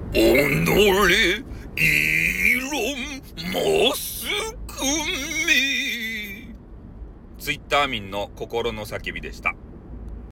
己イーロン・マスクめ。ツイッター民の心の叫びでした。